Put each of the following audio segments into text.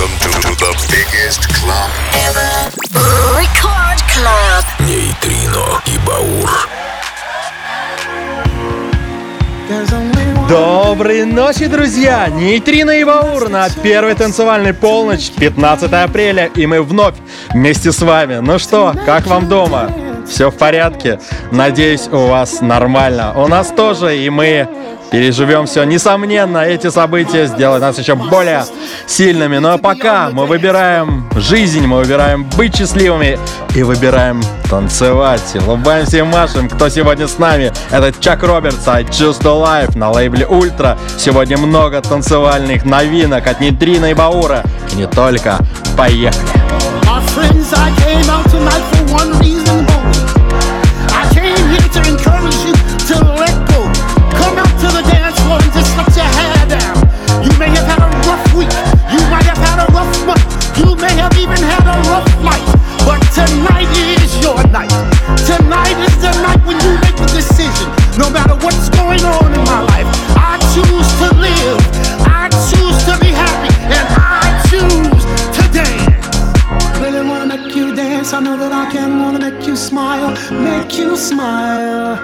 Welcome to the biggest club ever. Record Club. Нейтрино и Баур. Доброй ночи, друзья! Нейтрино и Баур на первой танцевальной полночь, 15 апреля, и мы вновь вместе с вами. Ну что, как вам дома? Все в порядке? Надеюсь, у вас нормально. У нас тоже, и мы переживем все. Несомненно, эти события сделают нас еще более сильными. Но пока мы выбираем жизнь, мы выбираем быть счастливыми и выбираем танцевать. Улыбаемся и машем. Кто сегодня с нами? Это Чак Робертс, I Choose to Life на лейбле Ультра. Сегодня много танцевальных новинок от Нейтрино и Баура. И не только. Поехали! To the dance floor and just let your hair down. You may have had a rough week, you might have had a rough month, you may have even had a rough life, but tonight is your night. Tonight is the night when you make the decision. No matter what's going on in my life, I choose to live, I choose to be happy, and I choose to dance. Really wanna make you dance, I know that I can. Wanna make you smile, make you smile.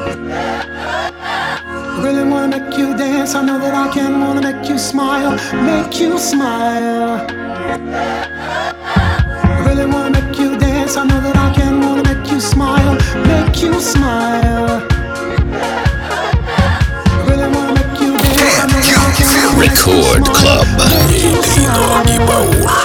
Really wanna make you dance, I know that I can. Wanna make you smile, make you smile. Really wanna make you dance, I know that I can. Wanna make you smile, make you smile. Really wanna make you dance, I know that I can. Record Club Нейтрино и Баур.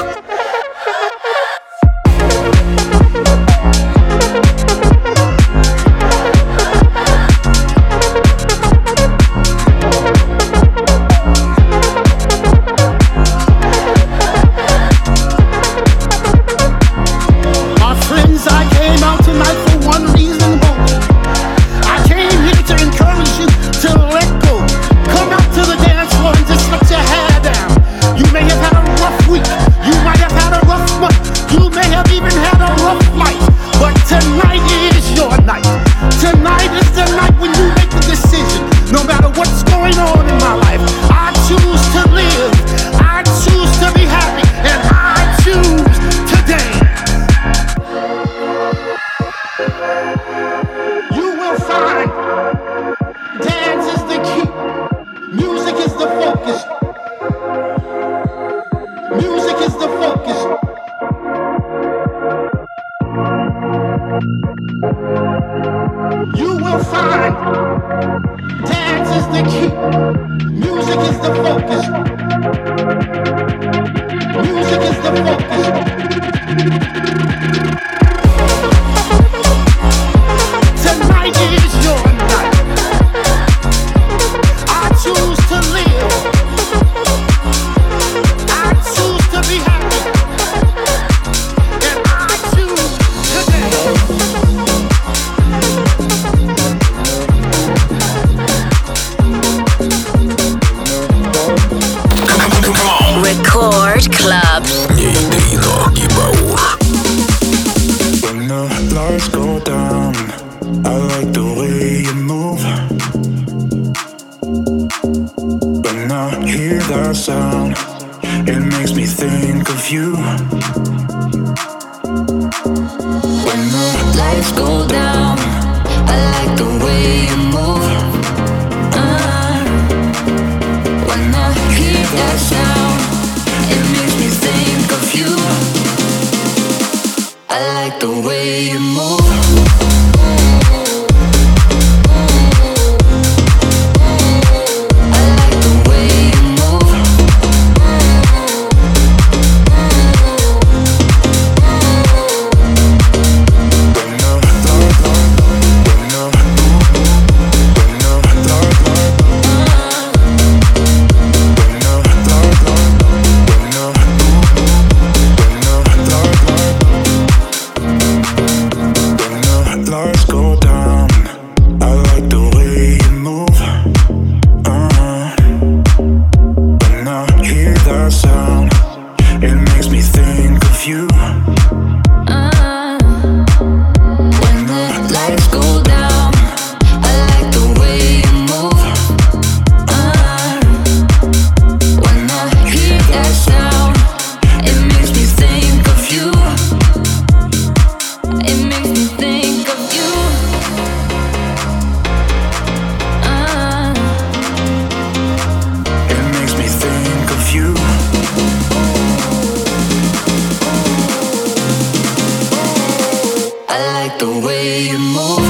the way you move.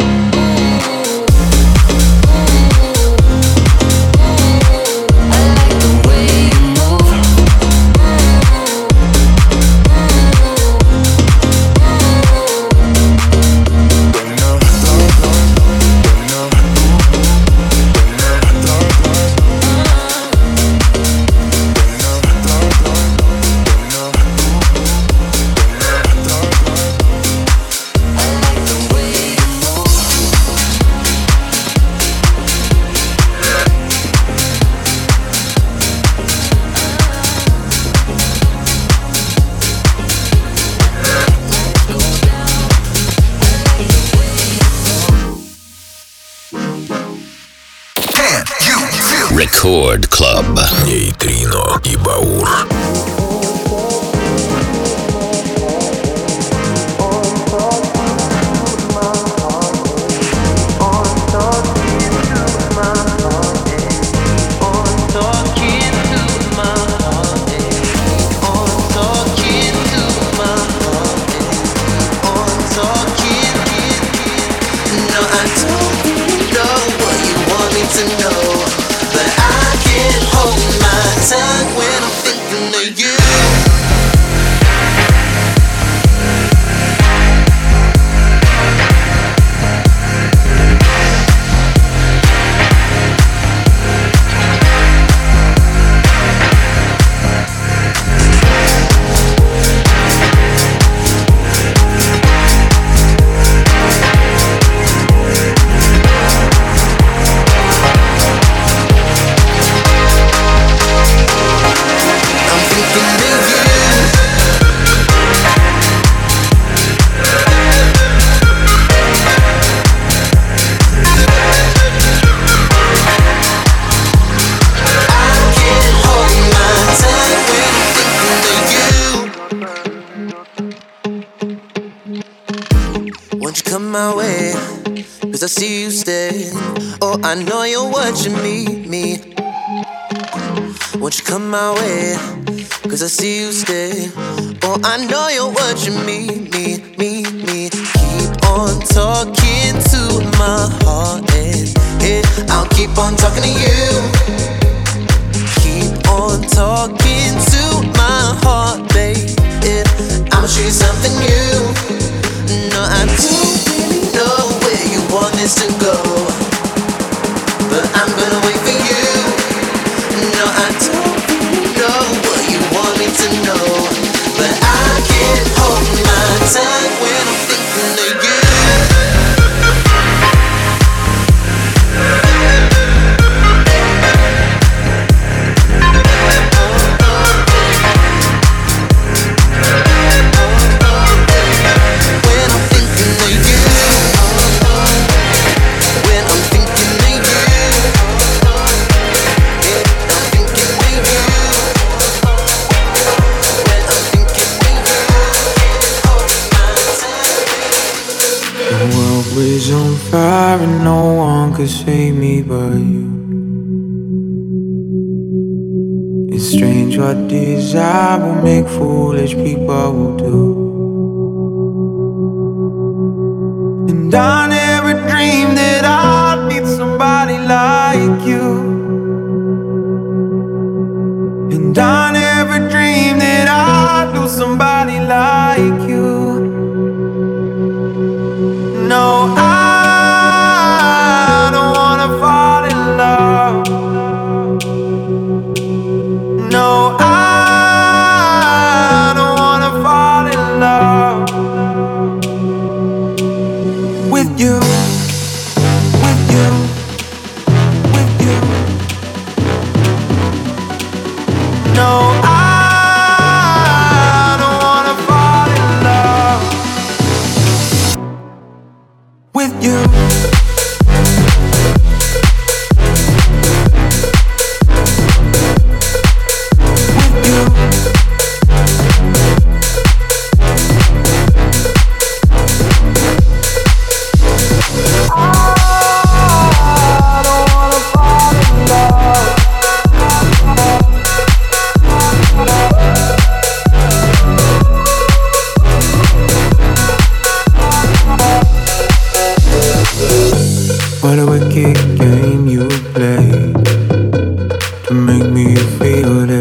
Record Club. Нейтрино и Баур. I see you stay. Oh, I know you're watching me. Won't you come my way? Cause I see you stay. Oh, I know you're watching me. Keep on talking to my heart, and I'll keep on talking to you. Keep on talking to my heart, babe. I'ma show you something new. No, I don't really know where you want this to go, but I'm gonna wait for you. No, I don't really know what you want me to know, but I can't hold my tongue when I'm thinking of you. Is on fire and no one could save me but you. It's strange what desire will make foolish people will do. And I never dreamed that I'd meet somebody like you. And I never dreamed that I'd lose somebody like you. No, I don't wanna fall in love. No, I don't wanna fall in love with you, with you, with you. No, I don't wanna fall in love with you.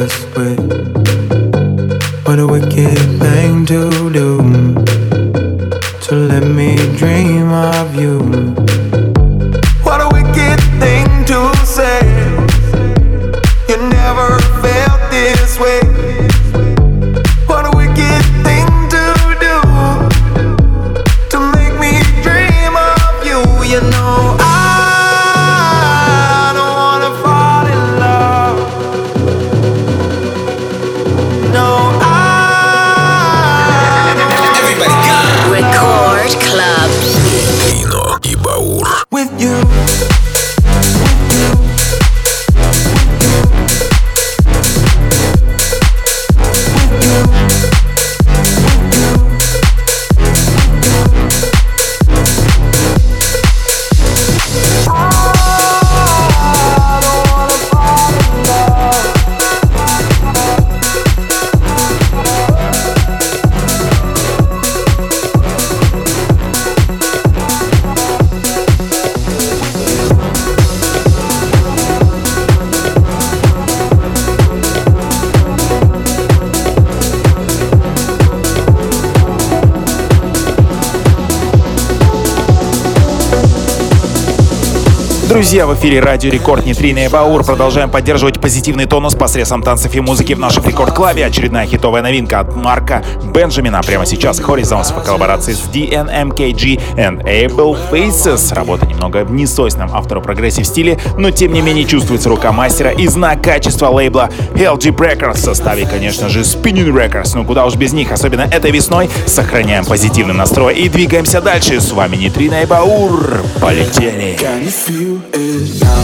this way. What a wicked thing to do, to let me dream of you. What a wicked thing to say. You never felt this way. What a wicked thing to do, to make me dream of you. You know I don't wanna fall in love. No, Everybody go! Record Club. Нейтрино и Баур. with you. Друзья, в эфире Радио Рекорд, Нейтрино и Баур. Продолжаем поддерживать позитивный тонус посредством танцев и музыки в нашем рекорд-клабе. Очередная хитовая новинка от Марка Бенджамина. Прямо сейчас Horizons в коллаборации с DNMKG and Able Faces. Работа немного в несвойственном автору прогрессив стиле, но тем не менее чувствуется рука мастера и знак качества лейбла LG Records в составе, конечно же, Spinning Records. Ну куда уж без них, особенно этой весной. Сохраняем позитивный настрой и двигаемся дальше. С вами Нейтрино и Баур. Полетели! Can you feel it now?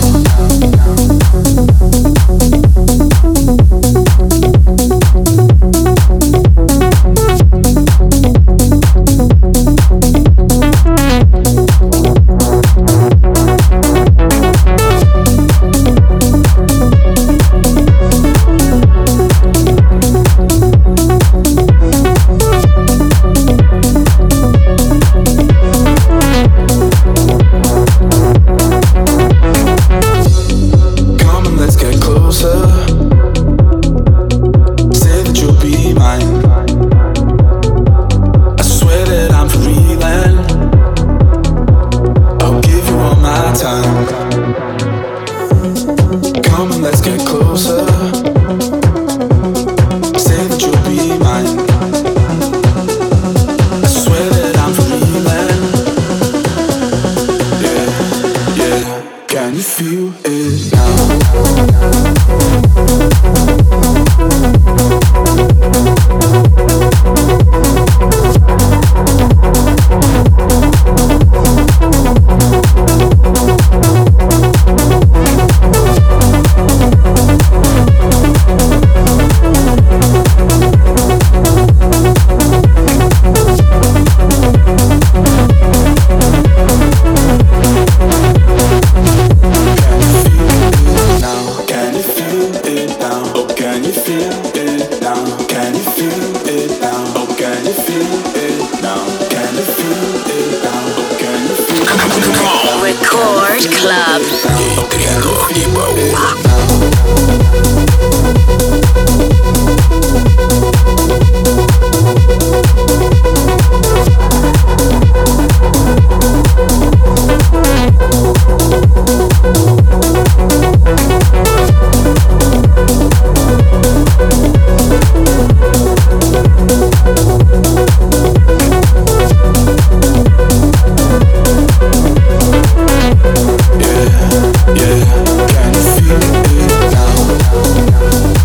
Yeah, can you feel it now?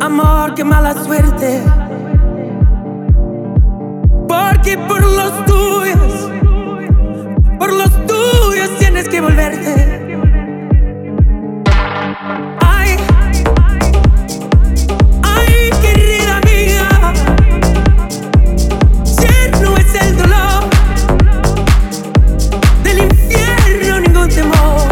amor que mala suerte. Porque por los tuyos tienes que volverte. Ay, ay, querida mía, tierno es el dolor, del infierno ningún temor.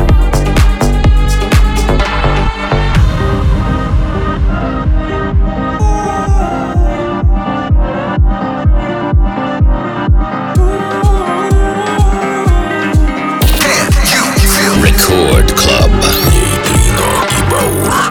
Record Club. Нейтрино и Баур.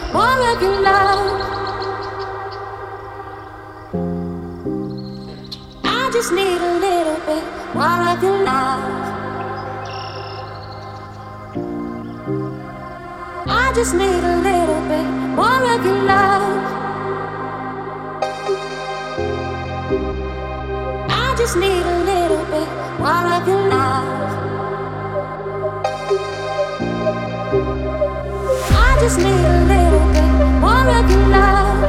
more of your love. I just need a little bit more of your love. I just need a little bit more of your love. I just need a little bit more of your love. I just need a little bit more of your love.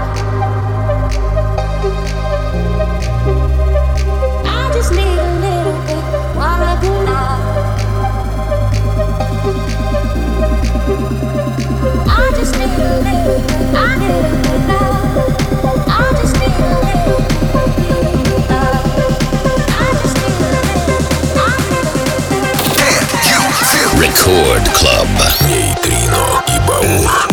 I just need a little bit more of your love. I just need a little bit, I need a little love. I just need a little bit love. I just need a little, I need a little. Record Club. Нейтрино и Баур.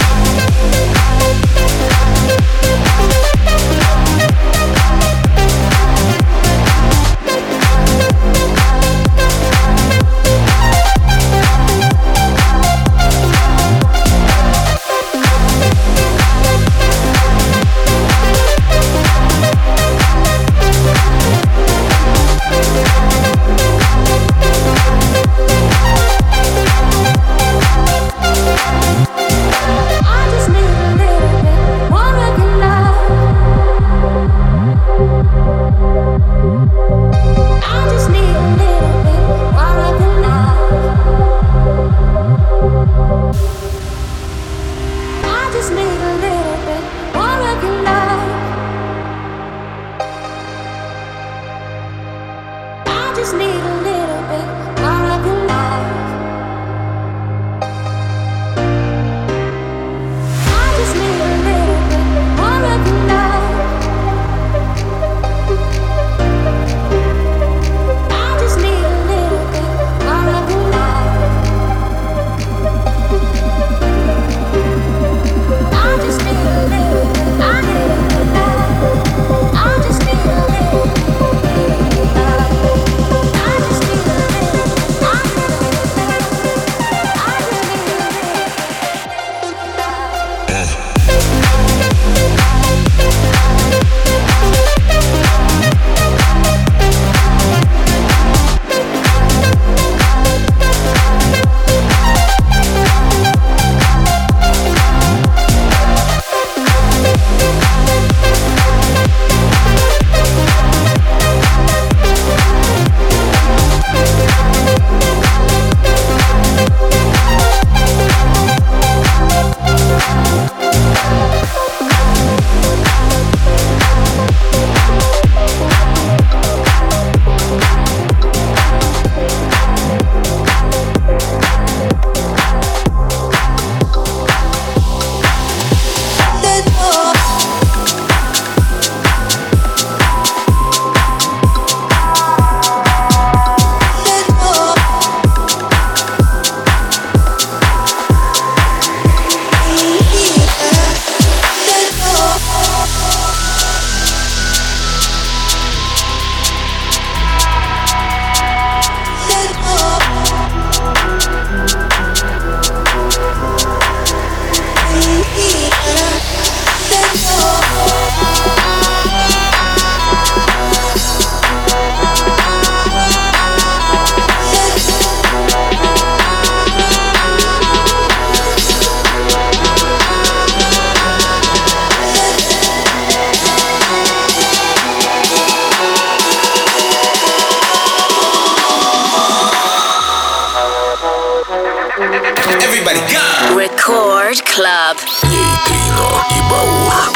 Record Club. Нейтрино и Баур.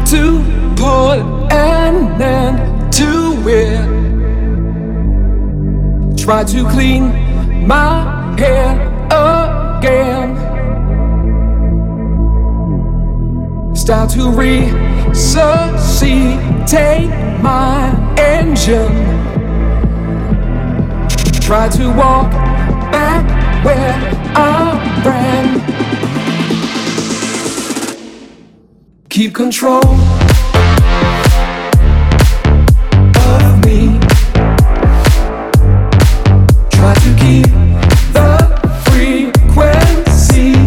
to put an end to it. Try to clean my head again. Start to resuscitate my engine. Try to walk back where I ran. Keep control of me. Try to keep the frequency.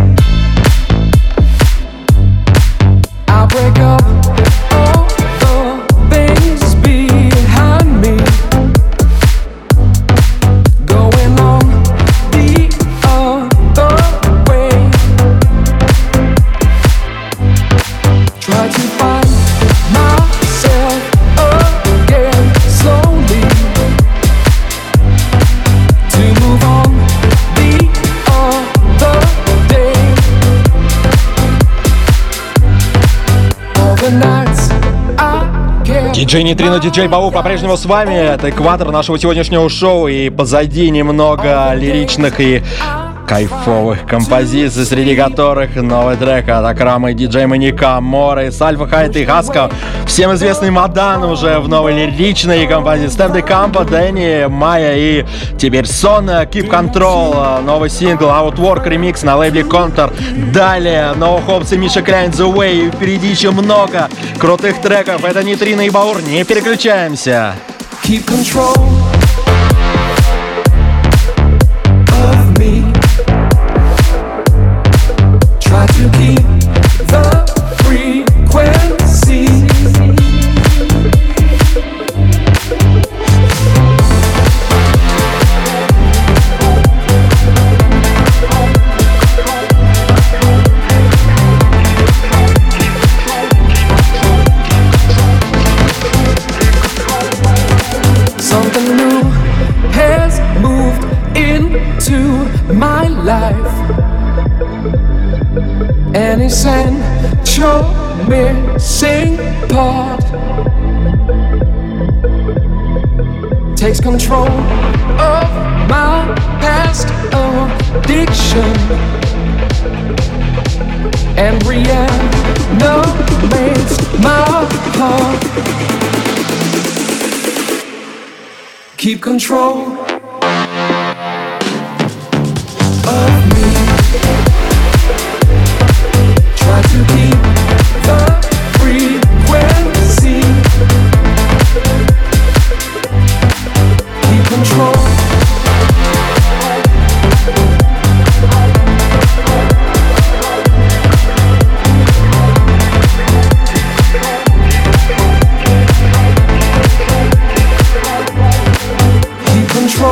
I'll break up all the things behind me. Going on the other way. Try to find myself again slowly. To move on the other day. All the nights I can't. Диджей Нейтрино, диджей Бау по-прежнему с вами. Это экватор нашего сегодняшнего шоу. И позади немного лиричных и кайфовых композиций, среди которых новый трек от Акрама и диджей Маньяка, Моры, Сальфа Хайт и Хаска. Всем известный Мадан уже в новой лиричной композиции. Стеф де Кампо, Дэнни, Майя и теперь Сон, Keep Control, новый сингл Outwork ремикс на лейбле Контор. Далее No Hopes и Миша Кляйн The Way. И впереди еще много крутых треков. Это Нейтрино и Баур. Не переключаемся. Keep control of me. Try to keep the frequency. Something new has moved into my life. An essential missing part takes control of my past addiction and reanimates my heart. Keep control of me. Try to keep the frequency. Keep control. Keep control.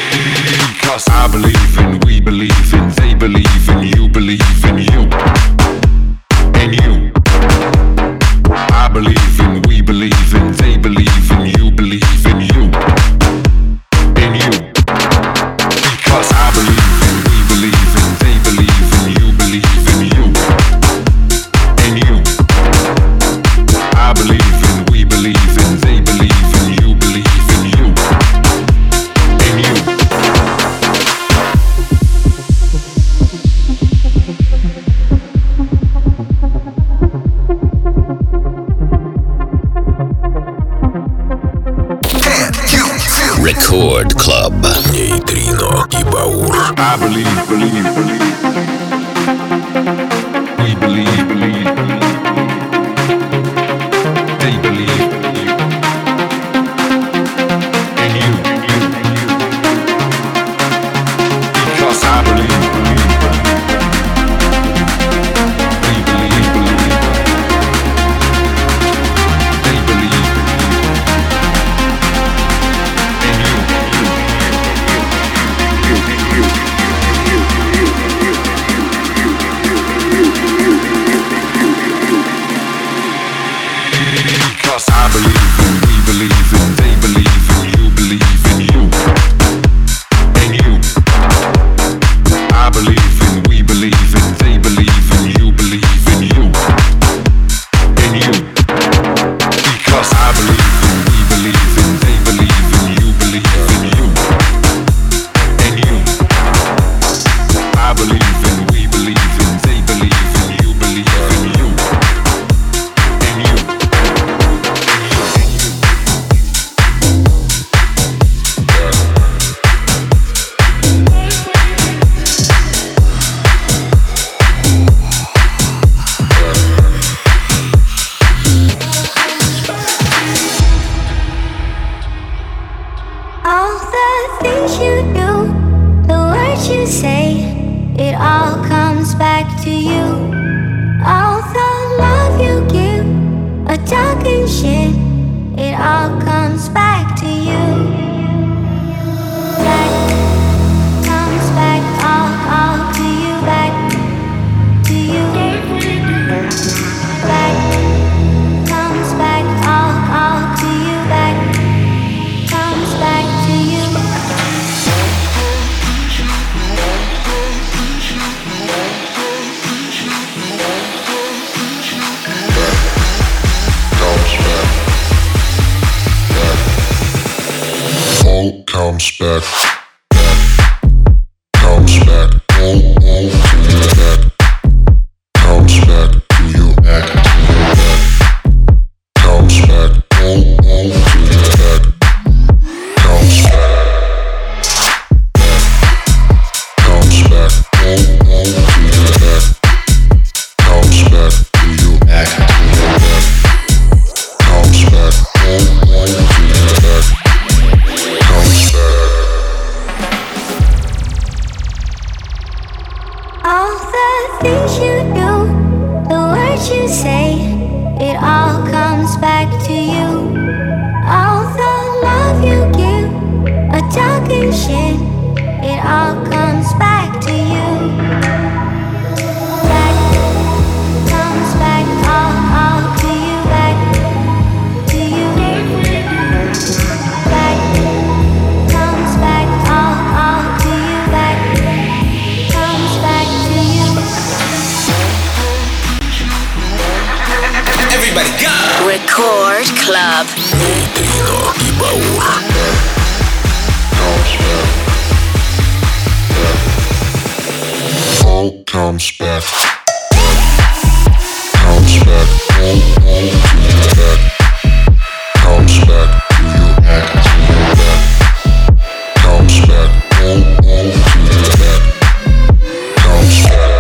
Cause I believe in, we believe in, they believe in, you believe in you. And you. I believe in, we believe in, they believe in, you believe in you. And you. Because I believe in, we believe in, they believe in, you believe in you. And you. I believe in, we believe in, they believe in, you believe in you. And you. Record Club. Нейтрино и Баур. I believe, believe, believe. We believe, believe, believe. They believe, believe. And you, and you, and you. Because I believe, believe, believe. We believe, believe. They believe, believe. And you, and you, and you, and you. Because I believe in, we believe in, they believe in, you believe in you. And you. I believe in, we believe in, they believe in, you believe in you. And you. Because I believe in, we believe in, they believe in, you believe in you. And you. I believe in, we believe in, they believe in, you believe in you. And you. All the things you do, the words you say, it all comes back to you. All the love you give, a talking shit, it all comes back to you. Back, comes back, all to you, back to you. Back, comes back, all to you, back. Comes back to you. All comes back. Comes back. All to you back. Comes back to you back to you back. Comes back. All to you back. Comes back. Comes back. All to you back. Comes back to you back to you back. Comes back. All to you back. Comes back. All the things you do, the words you say, it all comes back to you. All the love you give, a talking shit, it all comes back to you. Back, comes back, all to you, back to you. Back, comes back, all to you, back. Comes back to you. Everybody go! Record Club. Нейтрино и Баур. All comes back. Comes back. All to you back. Comes back to you back to you back. Comes back. All to you back. Comes back.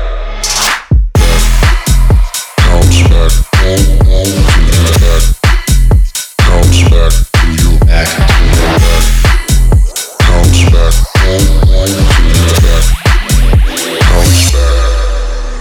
Comes back. All to you back. Comes back to you back to you back. Comes back. All to you back. Comes back.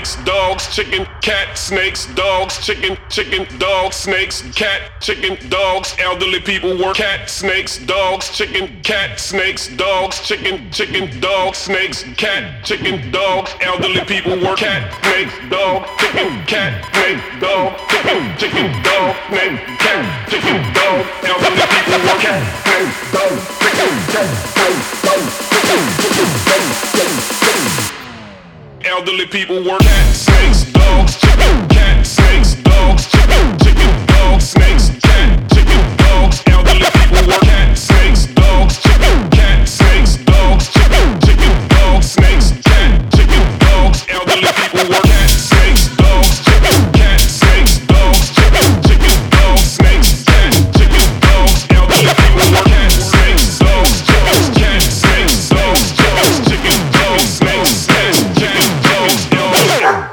snakes, dogs, chicken, cat, snakes, dogs, chicken, chicken, dogs, snakes, cat, chicken, dogs, elderly people work, cat, snakes, dogs, chicken, cat, snakes, dogs, chicken, chicken, dogs, snakes, cat, chicken, dogs, elderly people work, cat, snakes, dog, chicken, cat, snakes, dog, chicken, chicken, dog, snakes, cat, chicken, dog, elderly people work, cat, snakes, dog, chicken, cat, snakes, dog, chicken, chicken, dog, snakes, elderly people work, cat, snakes, dogs, chicken, cat, snakes, dogs, chicken, chicken, dogs, snakes, cat, chicken, dogs, elderly people work, cat, snakes, dogs, chicken, cat, snakes, dogs, chicken, chicken, dogs, snakes, cat, chicken, dogs, elderly people work, cat, snakes, dogs, chicken, cat, snakes, dogs, chicken, chicken, dogs, snakes, cat, chicken, dogs, elderly people work, cat, snakes, dogs, chicken, cat, snakes, dogs, chicken, dogs, snakes, cat, chicken, dogs, elderly.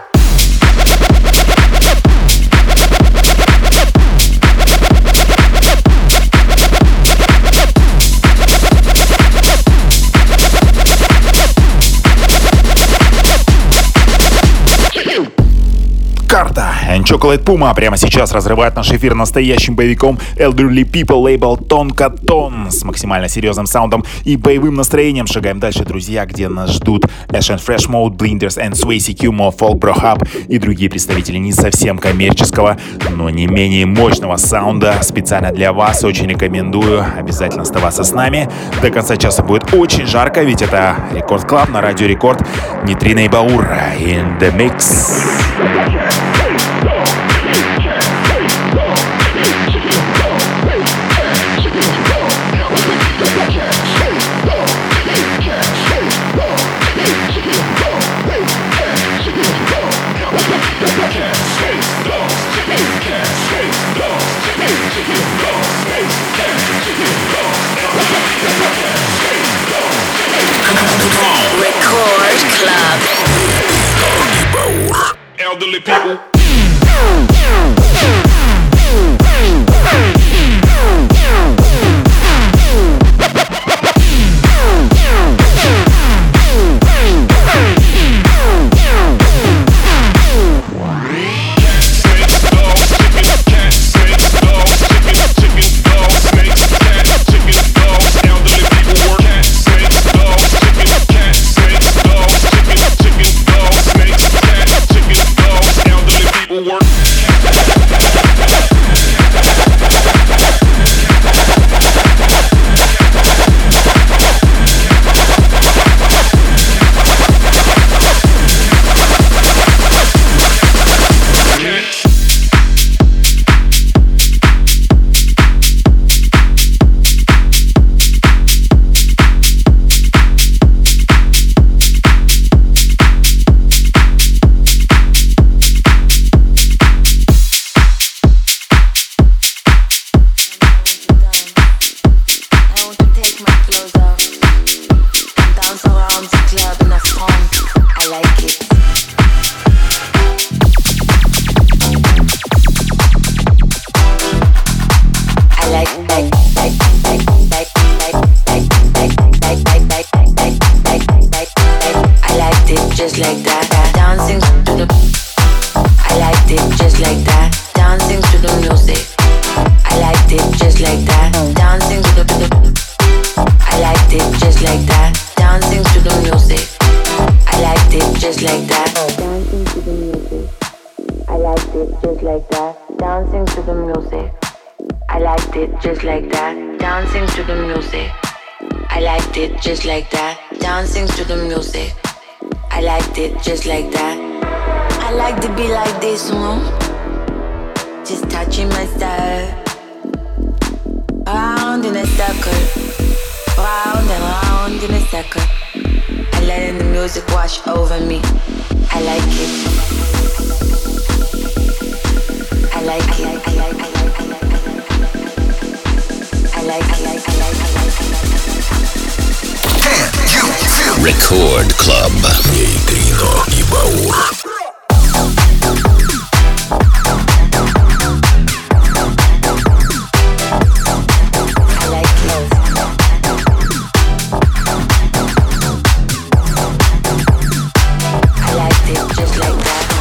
Карта. Chocolate Puma прямо сейчас разрывает наш эфир настоящим боевиком Elderly People, лейбл Тонка Тон с максимально серьезным саундом и боевым настроением. Шагаем дальше, друзья, где нас ждут Ash and Fresh Mode, Blinders and Swayze Q, Mo Folk, Bro Hub и другие представители не совсем коммерческого, но не менее мощного саунда. Специально для вас очень рекомендую обязательно оставаться с нами. До конца часа будет очень жарко, ведь это Рекорд Клаб на Радио Рекорд. Нейтрино и Баур in the mix. Record Club. Elderly people. Just like that, dancing to the music. I liked it just like that. I like to be like this one, just touching myself. Round in a circle, round and round in a circle. And letting the music wash over me. I like it. I like it. I like it. I like it. Record Club. Нейтрино и Баур. I liked it just like that.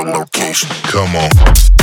your location. Come on.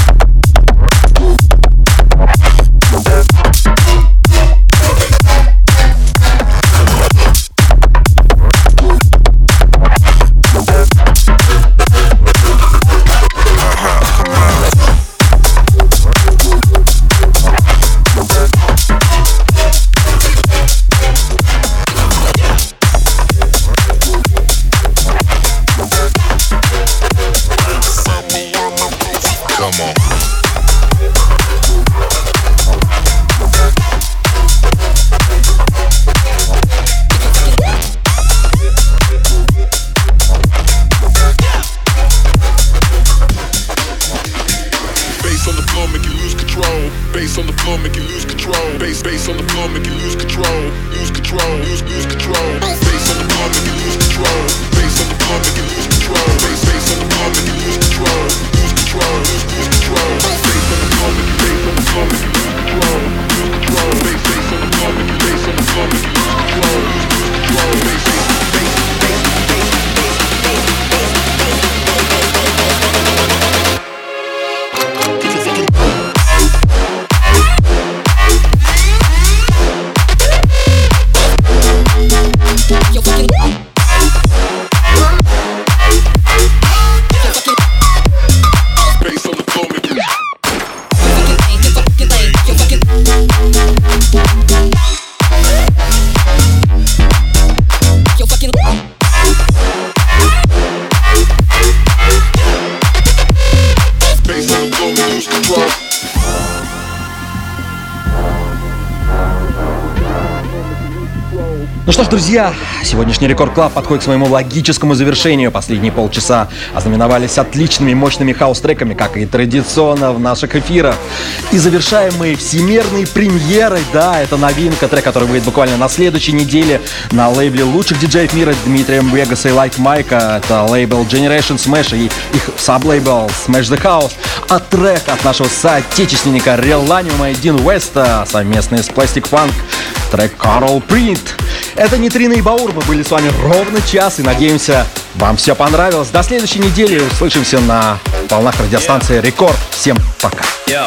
Ну что ж, друзья, сегодняшний Рекорд Клаб подходит к своему логическому завершению. Последние полчаса ознаменовались отличными мощными хаус-треками, как и традиционно в наших эфирах. И завершаем мы всемирной премьерой. Да, это новинка, трек, который выйдет буквально на следующей неделе на лейбле лучших диджеев мира Дмитрием Вегаса и Like Mike. Это лейбл Generation Smash и их саблейбл Smash the House. А трек от нашего соотечественника Relanium и Дин Уэста, совместный с Plastic Funk, трек Coral Print. Это Нейтрино и Баур, мы были с вами ровно час и надеемся, вам все понравилось. До следующей недели, услышимся на волнах радиостанции Рекорд. Всем пока.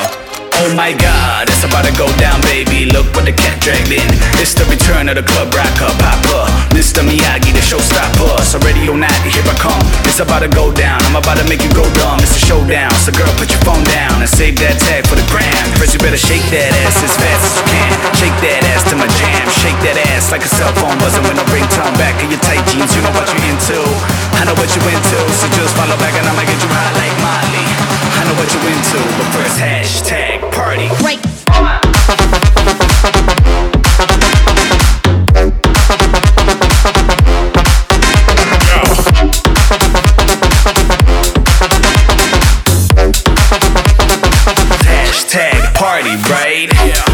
Oh my god, it's about to go down, baby. Look what the cat dragged in. It's the return of the club rocker, Papa. Mr. Miyagi, the showstopper. So radio night, here I come. It's about to go down. I'm about to make you go dumb. It's a showdown. So girl, put your phone down and save that tag for the gram. First you better shake that ass as fast as you can. Shake that ass to my jam. Shake that ass like a cell phone buzzing with a ringtone. Back of your tight jeans, you know what you're into. I know what you into. So just follow back and I'ma get you high like Molly. I know what you into. But first hashtag party. Break. Hashtag party, right?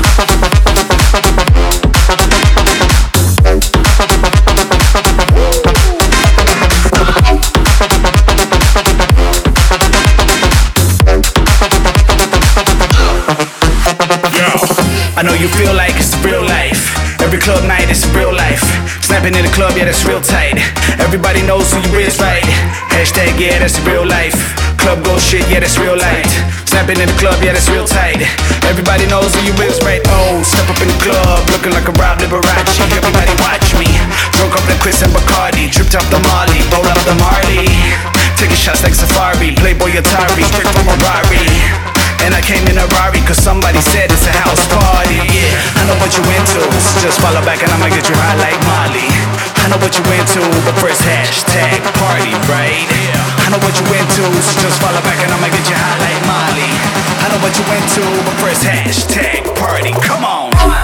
I know you feel like it's real life. Every club night is real life. Snapping in the club, yeah, that's real tight. Everybody knows who you is, right? Hashtag, yeah, that's real life. Club go shit, yeah, that's real light. Snapping in the club, yeah, that's real tight. Everybody knows who you is, right? Oh, step up in the club, looking like a Rob Liberace. Everybody watch me. Drunk up the Chris and Bacardi. Tripped off the Molly, rolled up the Marley. Taking shots like Safari. Playboy Atari, straight from a Rari. And I came in a Rari cause somebody said it's a house party, yeah. I know what you into, so just follow back and I'ma get you high like Molly. I know what you into, but first hashtag party, right? I know what you into, so just follow back and I'ma get you high like Molly. I know what you into, but first hashtag party, come on.